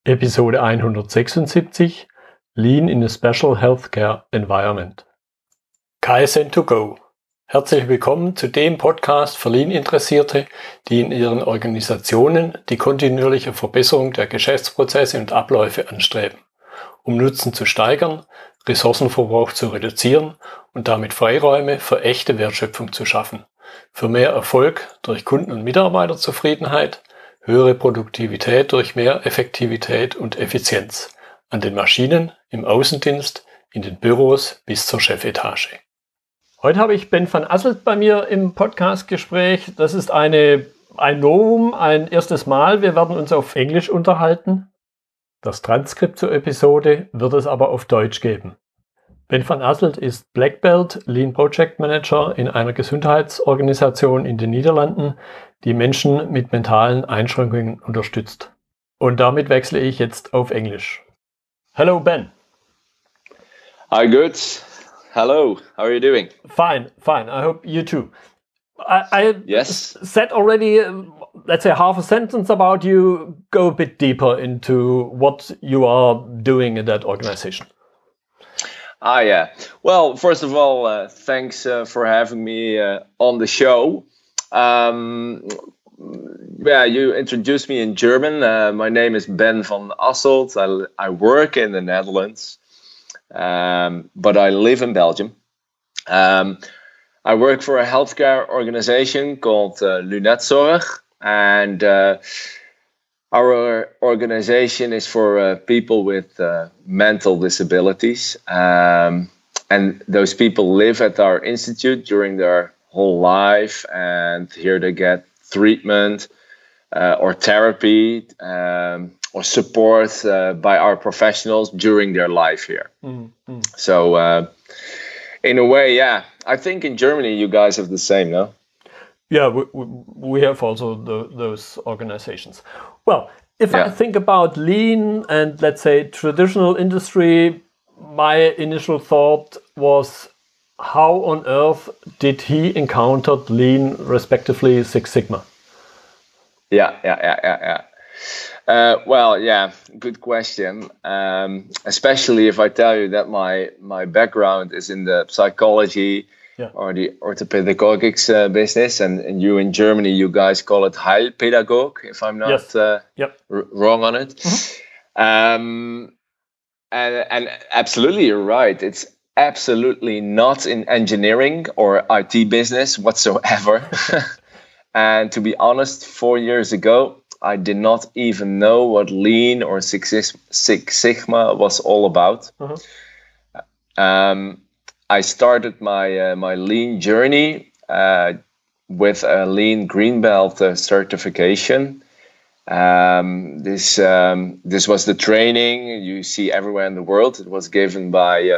Episode 176 Lean in a Special Healthcare Environment. Kaizen2Go. Herzlich willkommen zu dem Podcast für Lean-Interessierte, die in ihren Organisationen die kontinuierliche Verbesserung der Geschäftsprozesse und Abläufe anstreben, um Nutzen zu steigern, Ressourcenverbrauch zu reduzieren und damit Freiräume für echte Wertschöpfung zu schaffen, für mehr Erfolg durch Kunden- und Mitarbeiterzufriedenheit, höhere Produktivität durch mehr Effektivität und Effizienz an den Maschinen, im Außendienst, in den Büros bis zur Chefetage. Heute habe ich Ben van Asselt bei mir im Podcastgespräch. Das ist ein Novum, ein erstes Mal. Wir werden uns auf Englisch unterhalten. Das Transkript zur Episode wird es aber auf Deutsch geben. Ben van Asselt ist Black Belt Lean Project Manager in einer Gesundheitsorganisation in den Niederlanden, die Menschen mit mentalen Einschränkungen unterstützt. Und damit wechsle ich jetzt auf Englisch. Hello, Ben. Hi, good. Hello. How are you doing? Fine. I hope you too. I Yes. said already, let's say half a sentence about you. Go a bit deeper into what you are doing in that organization. Yeah. Well, first of all, thanks for having me on the show. You introduced me in German. My name is Ben van Asselt. I work in the Netherlands, but I live in Belgium. I work for a healthcare organization called Lunetzorg, and our organization is for people with mental disabilities, and those people live at our institute during their whole life, and here they get treatment or therapy or support by our professionals during their life here. Mm-hmm. So in a way, I think in Germany you guys have the same, no? Yeah, we have also those organizations. Well, if I think about lean and, let's say, traditional industry, my initial thought was, how on earth did he encounter lean, respectively Six Sigma? Yeah. Good question. Especially if I tell you that my background is in the psychology or the orthopedagogics business, and you in Germany, you guys call it Heilpädagog, if I'm not wrong on it. Mm-hmm. And absolutely, you're right. It's absolutely not in engineering or IT business whatsoever. And to be honest, 4 years ago, I did not even know what Lean or Six Sigma was all about. Uh-huh. I started my Lean journey with a Lean Green Belt certification. This was the training you see everywhere in the world. It was given by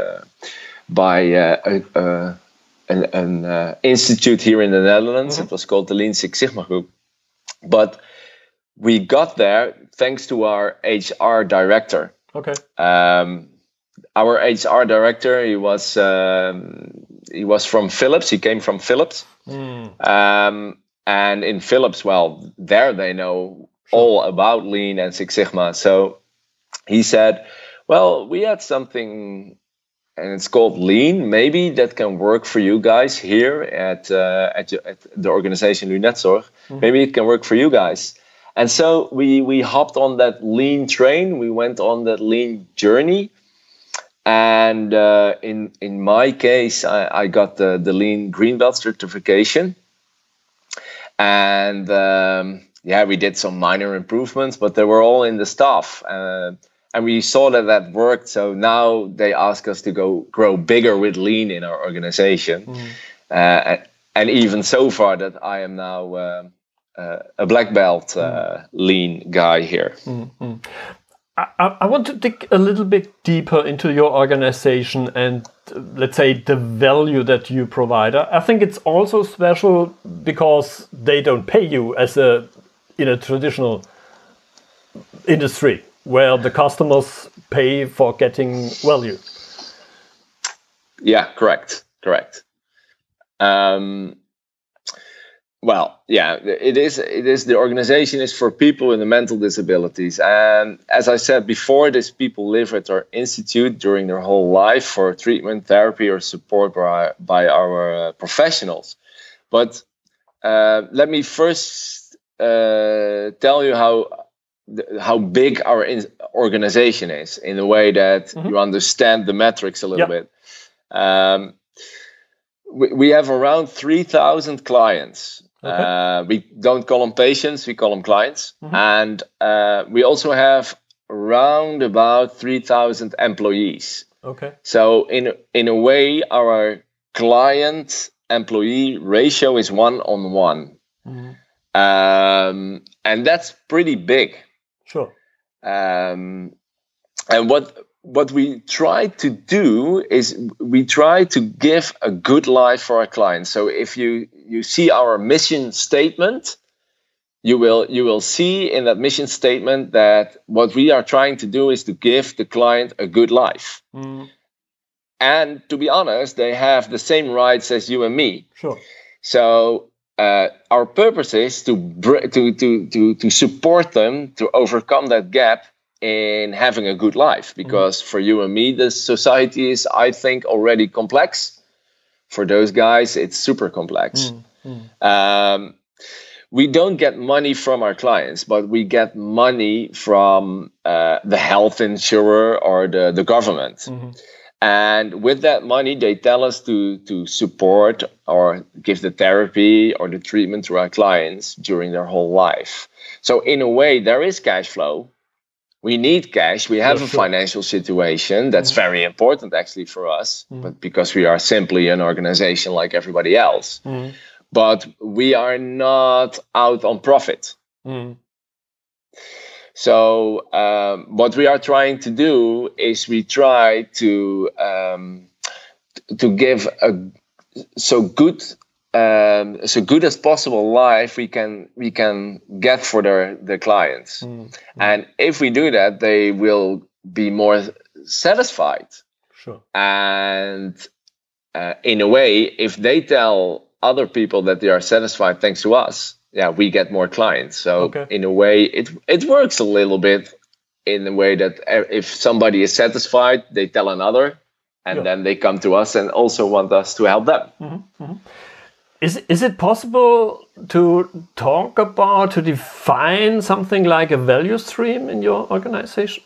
an institute here in the Netherlands. Mm-hmm. It was called the Lean Six Sigma Group. But we got there thanks to our HR director. Okay. Our HR director, he was from Philips. He came from Philips. Mm. And in Philips, there they know all about Lean and Six Sigma. So he said, well, we had something, and it's called Lean. Maybe that can work for you guys here at the organization Lunetzorg. Mm-hmm. Maybe it can work for you guys. And so we hopped on that Lean train. We went on that Lean journey. And in my case, I got the Lean Green Belt certification. And we did some minor improvements, but they were all in the staff. And we saw that worked. So now they ask us to grow bigger with Lean in our organization. Mm. And even so far that I am now a black belt Lean guy here. Mm-hmm. I want to dig a little bit deeper into your organization and, let's say, the value that you provide. I think it's also special because they don't pay you as in a traditional industry where the customers pay for getting value. Yeah, correct. Well, yeah, it is. The organization is for people with mental disabilities, and as I said before, these people live at our institute during their whole life for treatment, therapy, or support by our professionals. But let me first tell you how big our organization is, in a way that you understand the metrics a little bit. We have around 3,000 clients. Okay. We don't call them patients, we call them clients. And we also have around about 3,000 employees. Okay. So in a way, our client-employee ratio is 1:1. And that's pretty big. Sure. And what we try to do is we try to give a good life for our clients. So if you see our mission statement, you will see in that mission statement that what we are trying to do is to give the client a good life. And to be honest, they have the same rights as you and me. Sure. So our purpose is to support them to overcome that gap in having a good life, because for you and me, the society is, I think, already complex. For those guys, it's super complex. We don't get money from our clients, but we get money from the health insurer or the government. And with that money, they tell us to support or give the therapy or the treatment to our clients during their whole life. So in a way, there is cash flow. We need cash. We have a financial situation that's very important actually for us, but because we are simply an organization like everybody else. But we are not out on profit. So what we are trying to do is we try to give so good as possible life we can get for the clients. And if we do that, they will be more satisfied. Sure. And in a way, if they tell other people that they are satisfied thanks to us, we get more clients. So in a way, it works a little bit in a way that if somebody is satisfied, they tell another, and then they come to us and also want us to help them. Is it possible to talk about, to define something like a value stream in your organization?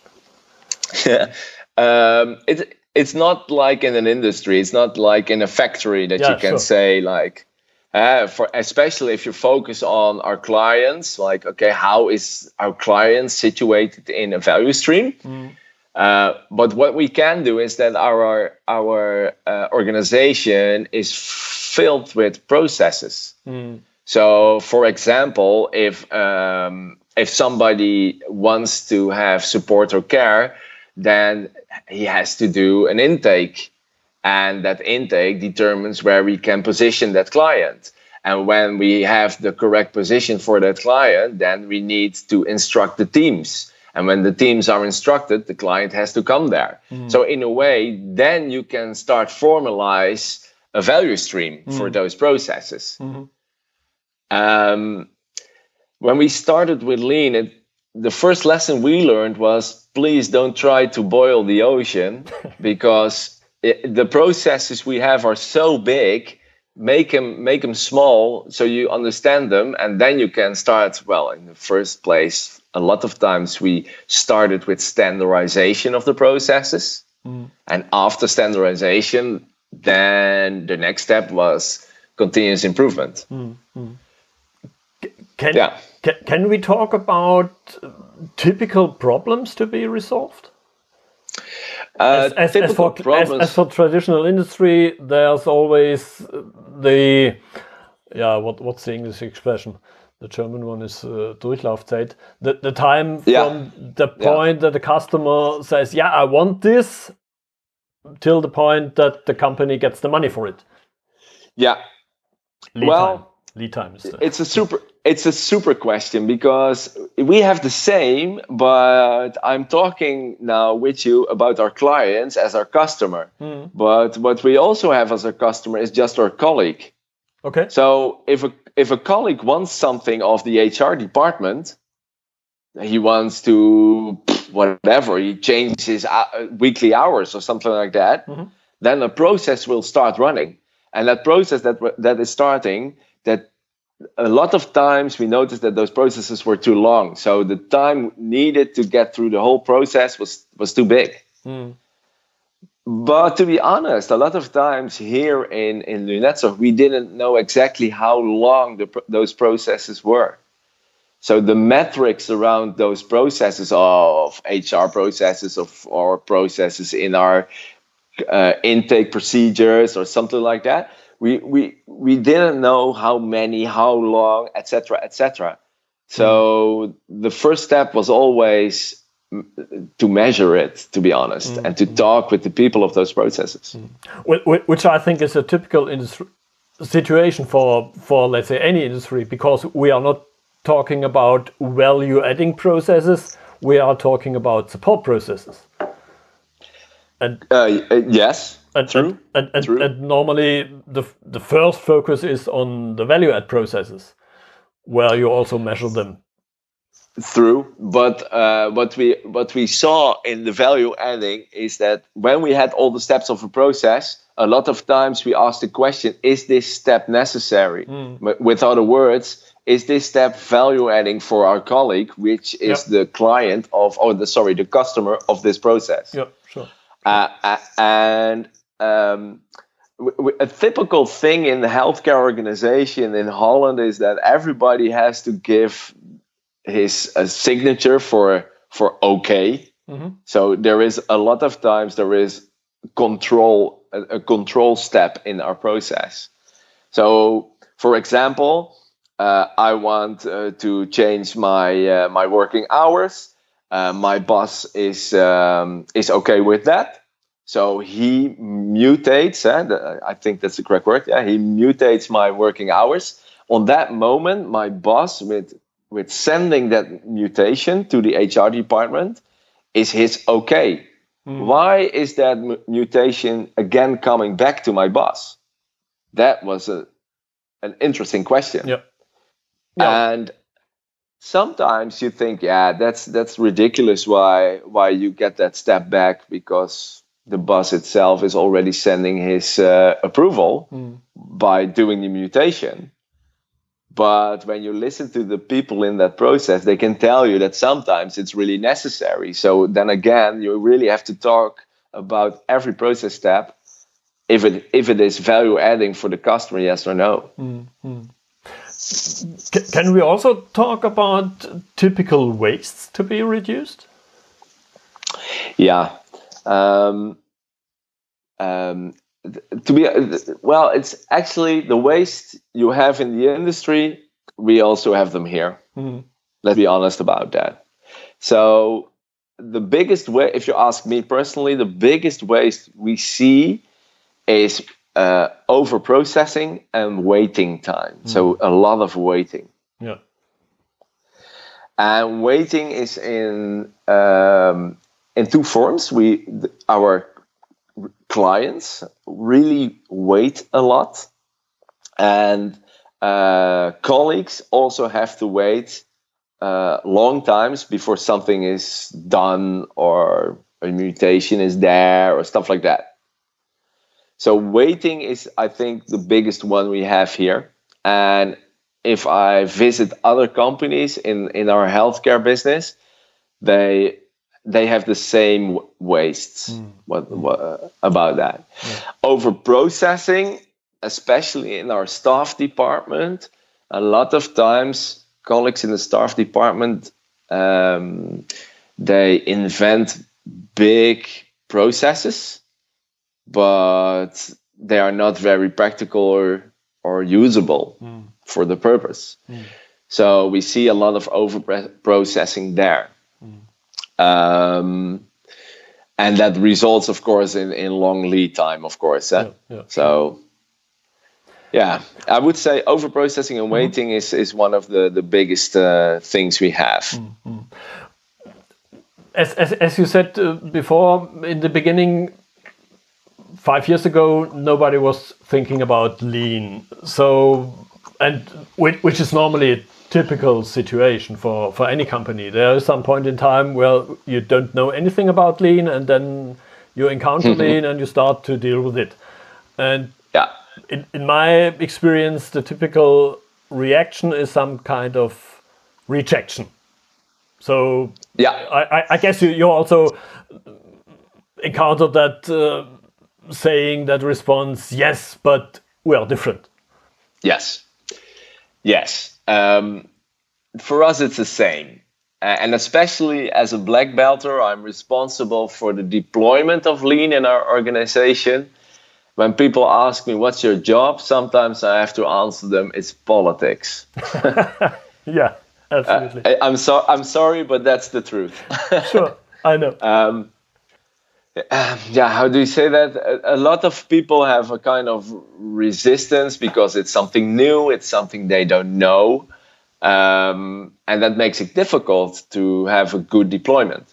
It's not like in an industry. It's not like in a factory that you can say like, for especially if you focus on our clients, like, okay, how is our client situated in a value stream? But what we can do is that our organization is filled with processes. So, for example, if somebody wants to have support or care, then he has to do an intake. And that intake determines where we can position that client. And when we have the correct position for that client, then we need to instruct the teams. And when the teams are instructed, the client has to come there. So in a way, then you can start formalize a value stream for those processes. When we started with Lean, the first lesson we learned was, please don't try to boil the ocean, because the processes we have are so big. Make them small so you understand them, and then you can start. Well, in the first place, a lot of times we started with standardization of the processes, and after standardization, then the next step was continuous improvement. Can we talk about typical problems to be resolved? As for traditional industry, there's always what's the English expression? The German one is Durchlaufzeit. The time from the point that the customer says, I want this, till the point that the company gets the money for it. Lead time is it's a super question, because we have the same, but I'm talking now with you about our clients as our customer. But what we also have as our customer is just our colleague. Okay. So if if a colleague wants something of the HR department, he wants to whatever, he changes his weekly hours or something like that, then a process will start running. And that process that is starting, that a lot of times we noticed that those processes were too long. So the time needed to get through the whole process was too big. But to be honest, a lot of times here in Lunetsoft, we didn't know exactly how long those processes were. So the metrics around those processes of HR processes or processes in our intake procedures or something like that, we didn't know how many, how long, etc., etc. So the first step was always to measure it, to be honest, and to talk with the people of those processes. Which I think is a typical situation for, let's say, any industry, because we are not talking about value-adding processes, we are talking about support processes. And yes, true. And normally the first focus is on the value-add processes, where you also measure them. True, but what we saw in the value adding is that when we had all the steps of a process, a lot of times we asked the question: is this step necessary? With other words, is this step value adding for our colleague, which is the client of, the customer of this process? Yeah, sure. And a typical thing in the healthcare organization in Holland is that everybody has to give his signature for okay. So there is a lot of times there is a control step in our process. So for example, I want to change my working hours. My boss is okay with that. So he mutates, I think that's the correct word. Yeah, he mutates my working hours. On that moment, my boss, with sending that mutation to the HR department, is his okay. Why is that mutation again coming back to my boss? That was an interesting question. Yeah. And sometimes you think, that's ridiculous. Why you get that step back, because the boss itself is already sending his approval by doing the mutation. But when you listen to the people in that process, they can tell you that sometimes it's really necessary. So then again, you really have to talk about every process step, if it is value adding for the customer, yes or no. Can we also talk about typical wastes to be reduced? Yeah. It's actually the waste you have in the industry, we also have them here. Let's be honest about that. So the biggest way, if you ask me personally, the biggest waste we see is over processing and waiting time. So a lot of waiting. Yeah. And waiting is in two forms. Our clients really wait a lot, and colleagues also have to wait long times before something is done or a mutation is there or stuff like that. So waiting is, I think, the biggest one we have here. And if I visit other companies in our healthcare business, they have the same wastes. What about that? Yeah. Over processing, especially in our staff department, a lot of times colleagues in the staff department, they invent big processes, but they are not very practical or usable for the purpose. So we see a lot of over processing there. And that results, of course, in long lead time, of course. So, I would say over processing and waiting is one of the biggest things we have. As you said before, in the beginning, 5 years ago, nobody was thinking about lean. So and which is normally a typical situation for any company. There is some point in time where you don't know anything about Lean, and then you encounter Lean and you start to deal with it. And in my experience, the typical reaction is some kind of rejection. So I guess you also encountered that saying that response, yes, but we are different. Yes. For us, it's the same. And especially as a black belter, I'm responsible for the deployment of Lean in our organization. When people ask me, what's your job? Sometimes I have to answer them, it's politics. Yeah, absolutely. I'm sorry, but that's the truth. Sure, I know. How do you say that? A lot of people have a kind of resistance because it's something new, it's something they don't know. And that makes it difficult to have a good deployment.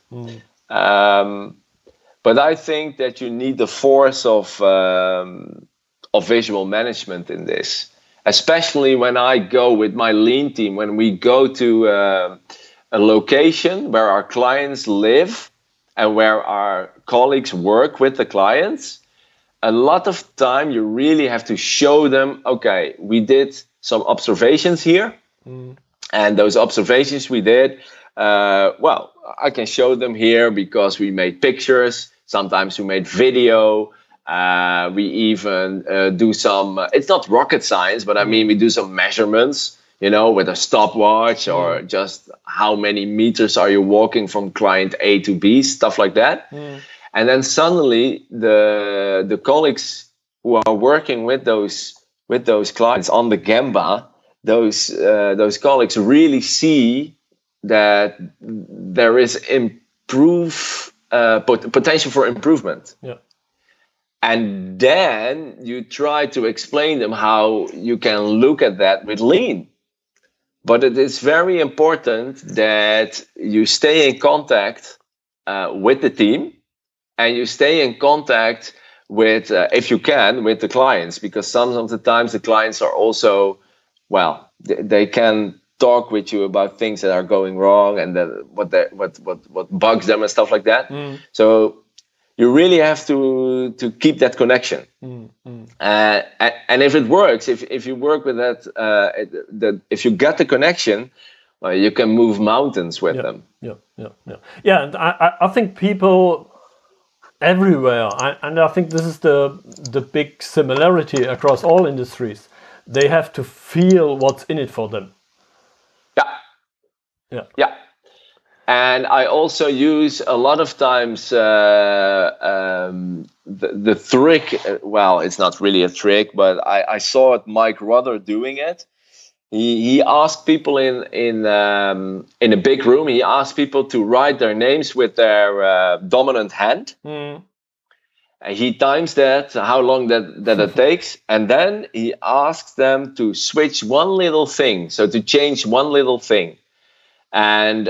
But I think that you need the force of visual management in this, especially when I go with my Lean team, when we go to a location where our clients live and where our colleagues work with the clients. A lot of time you really have to show them, okay, we did some observations here. And those observations we did, I can show them here because we made pictures. Sometimes we made video. We even do some, it's not rocket science, but I mean, we do some measurements, with a stopwatch or just how many meters are you walking from client A to B, stuff like that. And then suddenly the colleagues who are working with those clients on the Gemba, those colleagues really see that there is potential for improvement. Yeah. And then you try to explain them how you can look at that with Lean. But it is very important that you stay in contact with the team, and you stay in contact with, if you can, with the clients, because some of the times the clients are also, they can talk with you about things that are going wrong and what bugs them and stuff like that. So you really have to keep that connection. And if it works, if you work with that, if you get the connection, you can move mountains with them. Yeah, and I think people everywhere, and I think this is the big similarity across all industries, they have to feel what's in it for them. Yeah. And I also use a lot of times the trick. Well, it's not really a trick, but I saw Mike Ruther doing it. He asked people in a big room. He asked people to write their names with their dominant hand. And he times that, how long that it takes, and then he asks them to switch one little thing, so to change one little thing. And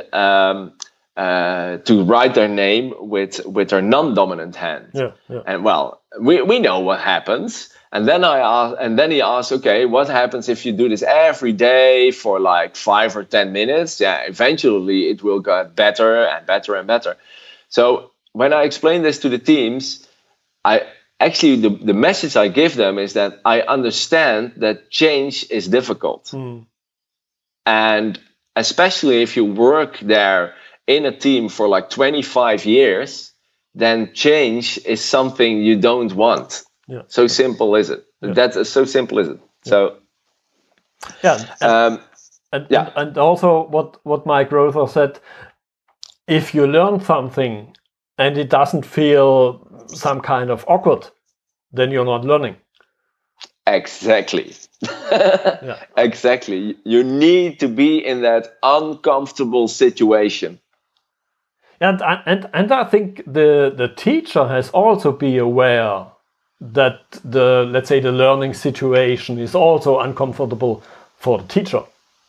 to write their name with their non-dominant hand. And we know what happens. And then he asks, okay, what happens if you do this every day for like 5 or 10 minutes? Eventually it will get better and better and better. So when I explain this to the teams, the message I give them is that I understand that change is difficult. And especially if you work there in a team for like 25 years, then change is something you don't want. So simple is it. That's so simple is it. So and also what Mike Ruther said, if you learn something and it doesn't feel some kind of awkward, then you're not learning. Exactly. Exactly. You need to be in that uncomfortable situation. And I think the teacher has also be aware that let's say the learning situation is also uncomfortable for the teacher.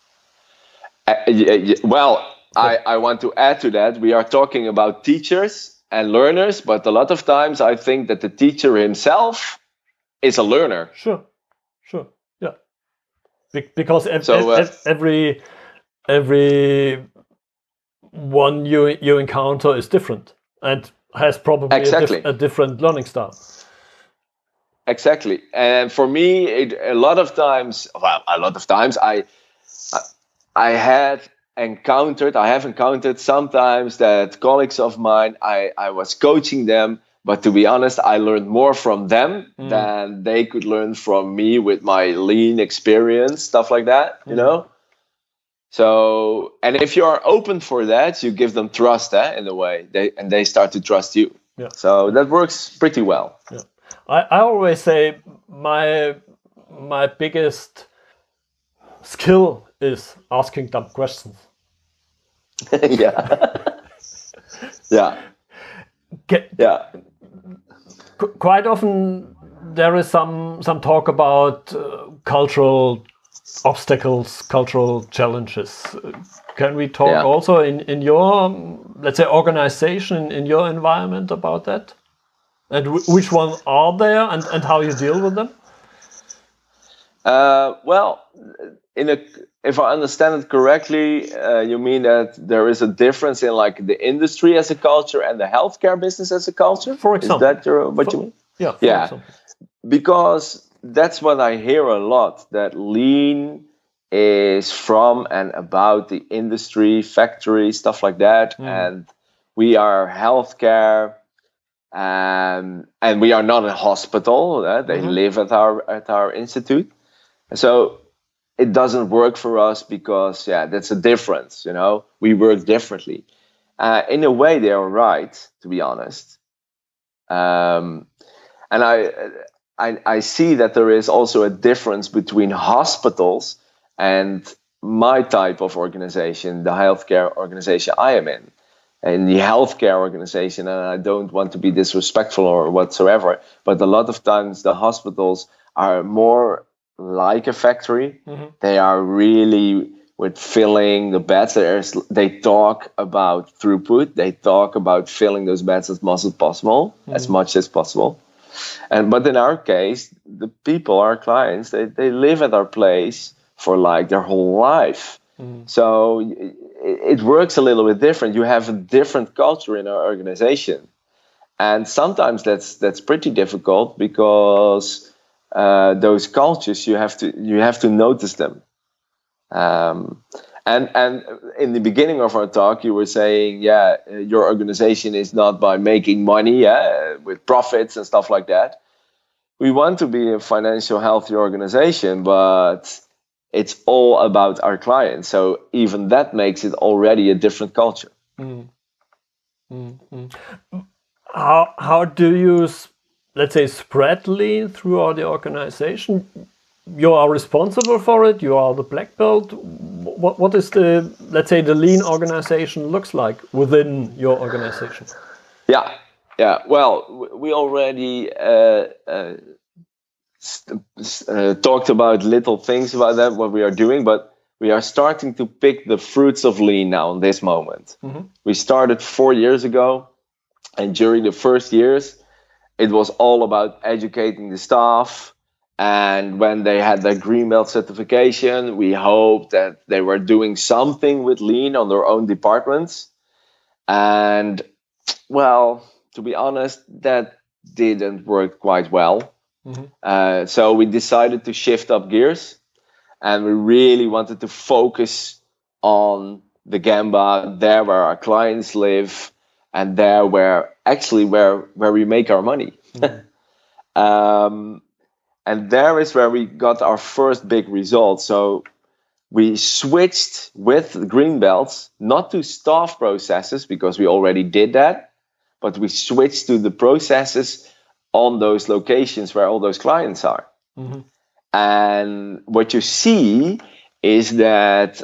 I want to add to that. We are talking about teachers and learners, but a lot of times I think that the teacher himself is a learner. Sure. Yeah. Because every one you encounter is different and has probably a different learning style. Exactly. And for me, a lot of times I have encountered sometimes that colleagues of mine, I was coaching them, but to be honest, I learned more from them than they could learn from me with my lean experience, stuff like that, you know? So, and if you are open for that, you give them trust in a way, they start to trust you. Yeah. So that works pretty well. Yeah. I always say my biggest skill is asking dumb questions. Yeah. Yeah. Quite often there is some talk about cultural obstacles, cultural challenges. Can we talk also in your, let's say, organization, in your environment about that? And which ones are there and how you deal with them? Well, if I understand it correctly, you mean that there is a difference in like the industry as a culture and the healthcare business as a culture? For example. Is that what you mean? Yeah. For example. Because that's what I hear a lot, that lean is from and about the industry, factory, stuff like that. And we are healthcare, and we are not a hospital. They live at our institute. So it doesn't work for us because, that's a difference, you know. We work differently. In a way, they are right, to be honest. And I see that there is also a difference between hospitals and my type of organization, the healthcare organization I am in. In the healthcare organization, and I don't want to be disrespectful or whatsoever, but a lot of times the hospitals are more like a factory. They are really with filling the beds. They talk about throughput. They talk about filling those beds as much as possible, But in our case, the people, our clients, they live at our place for like their whole life. So it works a little bit different. You have a different culture in our organization, and sometimes that's pretty difficult because those cultures you have to notice them. And in the beginning of our talk, you were saying, your organization is not by making money, with profits and stuff like that. We want to be a financial healthy organization, but it's all about our clients. So even that makes it already a different culture. How do you, let's say, spread lean throughout the organization? You are responsible for it. You are the black belt. What is the, let's say, the lean organization looks like within your organization? Yeah. Well, we already talked about little things about that, what we are doing, but we are starting to pick the fruits of lean now in this moment. We started 4 years ago, and during the first years, it was all about educating the staff. And when they had their green belt certification, we hoped that they were doing something with lean on their own departments. And well, to be honest, that didn't work quite well. So we decided to shift up gears, and we really wanted to focus on the Gemba, there where our clients live, and there where we make our money. And there is where we got our first big results. So we switched with the green belts, not to staff processes, because we already did that, but we switched to the processes on those locations where all those clients are. And what you see is that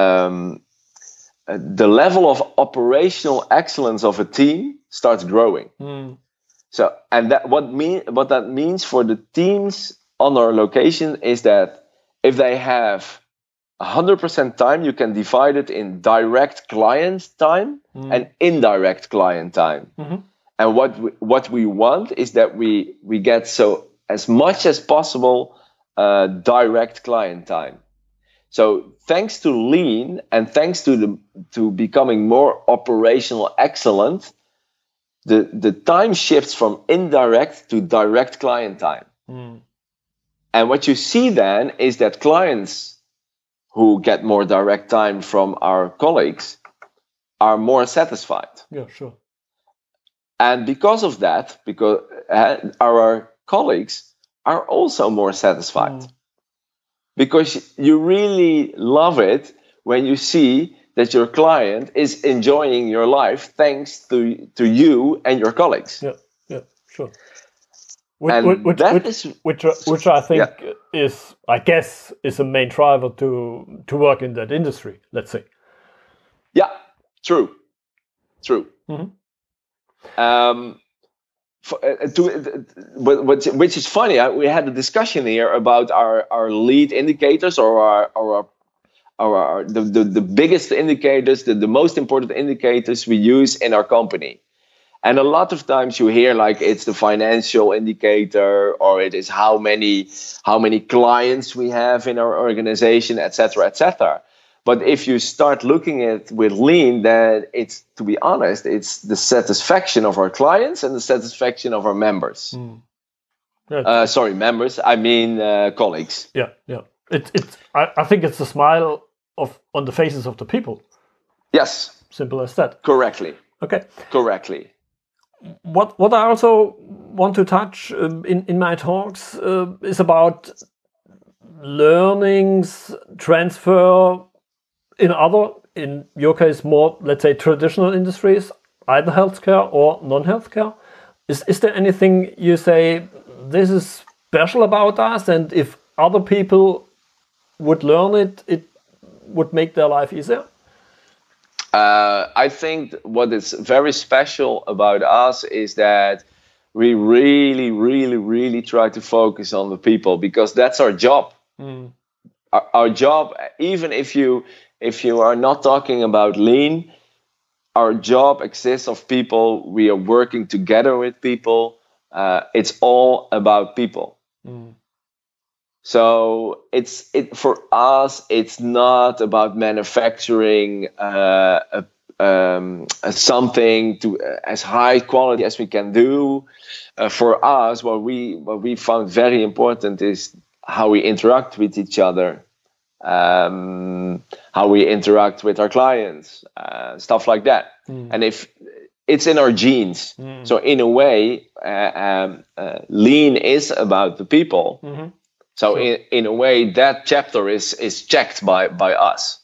the level of operational excellence of a team starts growing. So, and what that means for the teams on our location is that if they have 100% time, you can divide it in direct client time and indirect client time. And what we want is that we get so as much as possible direct client time. So thanks to Lean and thanks to becoming more operational excellent, the time shifts from indirect to direct client time. And what you see then is that clients who get more direct time from our colleagues are more satisfied. Yeah, sure. And because of that, because our colleagues are also more satisfied. Because you really love it when you see that your client is enjoying your life thanks to you and your colleagues. Yeah, sure. Which I think is a main driver to work in that industry, let's say. Yeah, true. Which is funny. We had a discussion here about our lead indicators or the biggest indicators, the most important indicators we use in our company. And a lot of times you hear like it's the financial indicator or it is how many clients we have in our organization, etc., etc. But if you start looking at with Lean, then it's, to be honest, it's the satisfaction of our clients and the satisfaction of our members. Members. I mean colleagues. Yeah. I think it's the smile on the faces of the people. Yes. Simple as that. Correctly. Okay. Correctly. What I also want to touch in my talks is about learnings, transfer in your case, more, let's say, traditional industries, either healthcare or non-healthcare. Is there anything you say, this is special about us, and if other people would learn it, it would make their life easier? I think what is very special about us is that we really, really, really try to focus on the people, because that's our job. Our job, even if you are not talking about Lean, our job exists of people. We are working together with people. It's all about people. So for us, it's not about manufacturing something to as high quality as we can do. For us, what we found very important is how we interact with each other, how we interact with our clients, stuff like that. And if it's in our genes, so in a way, Lean is about the people. So sure. in a way, that chapter is checked by us.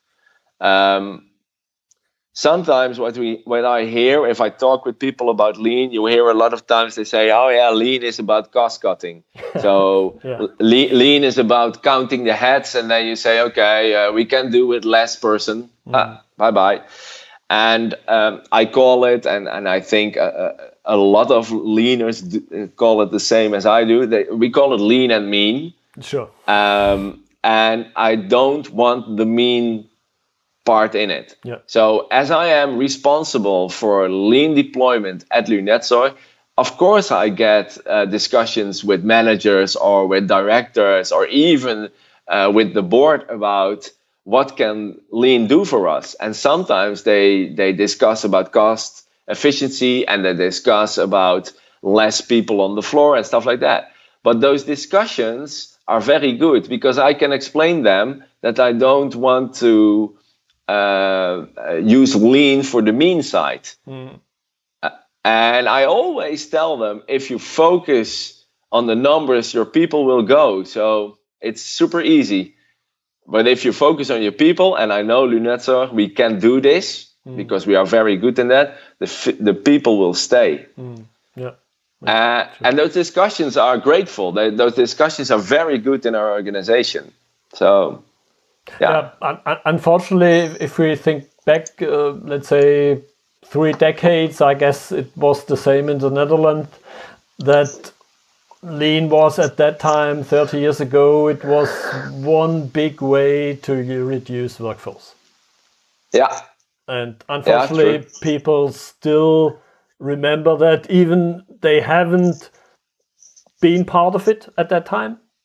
Sometimes when I hear, if I talk with people about Lean, you hear a lot of times they say, oh yeah, Lean is about cost cutting. So yeah. Lean is about counting the heads, and then you say, okay, we can do with less person. Bye-bye. And I call it, and I think a lot of leaners call it the same as I do. We call it lean and mean. Sure. And I don't want the mean part in it. Yeah. So as I am responsible for lean deployment at Lunetzoy, of course I get discussions with managers or with directors or even with the board about what can Lean do for us. And sometimes they discuss about cost efficiency, and they discuss about less people on the floor and stuff like that. But those discussions are very good, because I can explain them that I don't want to use Lean for the mean side. And I always tell them, if you focus on the numbers, your people will go. So it's super easy. But if you focus on your people, and I know Lunetzoy, we can do this, because we are very good in that, the people will stay. Yeah. And those discussions are grateful. Those discussions are very good in our organization. So, yeah. Unfortunately, if we think back, let's say 3 decades, I guess it was the same in the Netherlands, that Lean was at that time, 30 years ago, it was one big way to reduce workforce. Yeah. And unfortunately, people still remember that, even they haven't been part of it at that time,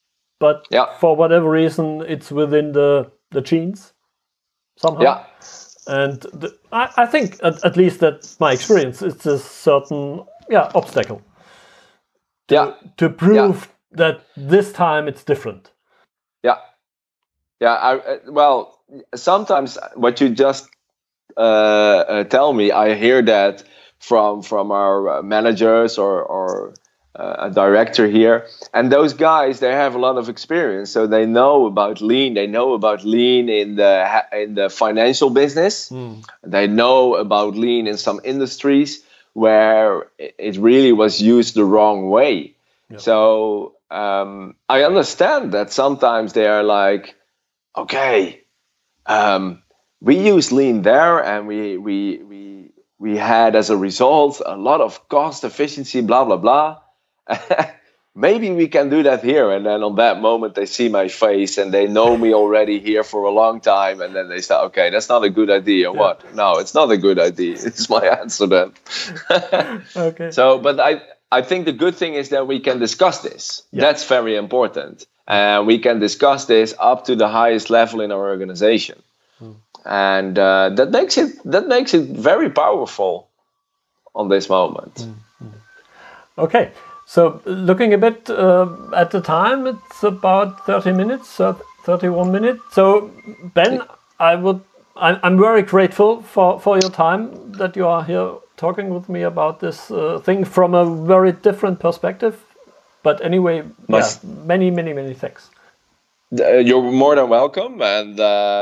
but for whatever reason, it's within the genes somehow. Yeah. And I think, at least that's my experience, it's a certain obstacle to prove that this time it's different. Well, sometimes what you just tell me, I hear that from our managers or a director here, and those guys, they have a lot of experience, so they know about lean. They know about lean in the financial business. They know about lean in some industries where it really was used the wrong way. So I understand that sometimes they are like, okay, we use lean there, and we had as a result a lot of cost efficiency, blah blah blah. Maybe we can do that here. And then on that moment, they see my face and they know me already here for a long time. And then they say, okay, that's not a good idea. What? No, it's not a good idea. It's my answer then. Okay. So, but I think the good thing is that we can discuss this. That's very important. And we can discuss this up to the highest level in our organization. And that makes it very powerful on this moment. Okay. So looking a bit at the time, it's about 30 minutes, 31 minutes. So Ben, I'm very grateful for your time that you are here talking with me about this thing from a very different perspective. But anyway, many thanks. You're more than welcome. And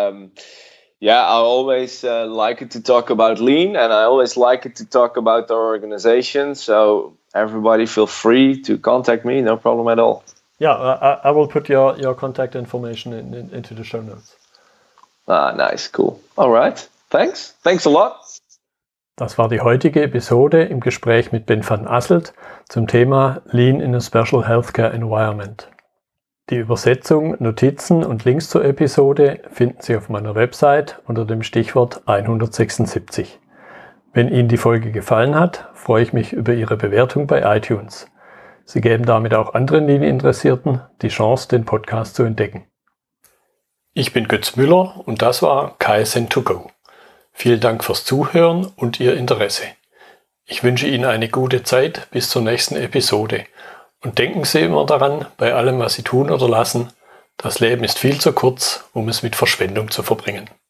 I always like it to talk about lean, and I always like it to talk about our organization. So everybody feel free to contact me, no problem at all. Yeah, I will put your contact information into the show notes. Nice, cool. All right, thanks a lot. Das war die heutige Episode im Gespräch mit Ben van Asselt zum Thema Lean in a Special Healthcare Environment. Die Übersetzung, Notizen und Links zur Episode finden Sie auf meiner Website unter dem Stichwort 176. Wenn Ihnen die Folge gefallen hat, freue ich mich über Ihre Bewertung bei iTunes. Sie geben damit auch anderen Lean-Interessierten die Chance, den Podcast zu entdecken. Ich bin Götz Müller und das war Kaizen2Go. Vielen Dank fürs Zuhören und Ihr Interesse. Ich wünsche Ihnen eine gute Zeit bis zur nächsten Episode. Und denken Sie immer daran, bei allem, was Sie tun oder lassen, das Leben ist viel zu kurz, um es mit Verschwendung zu verbringen.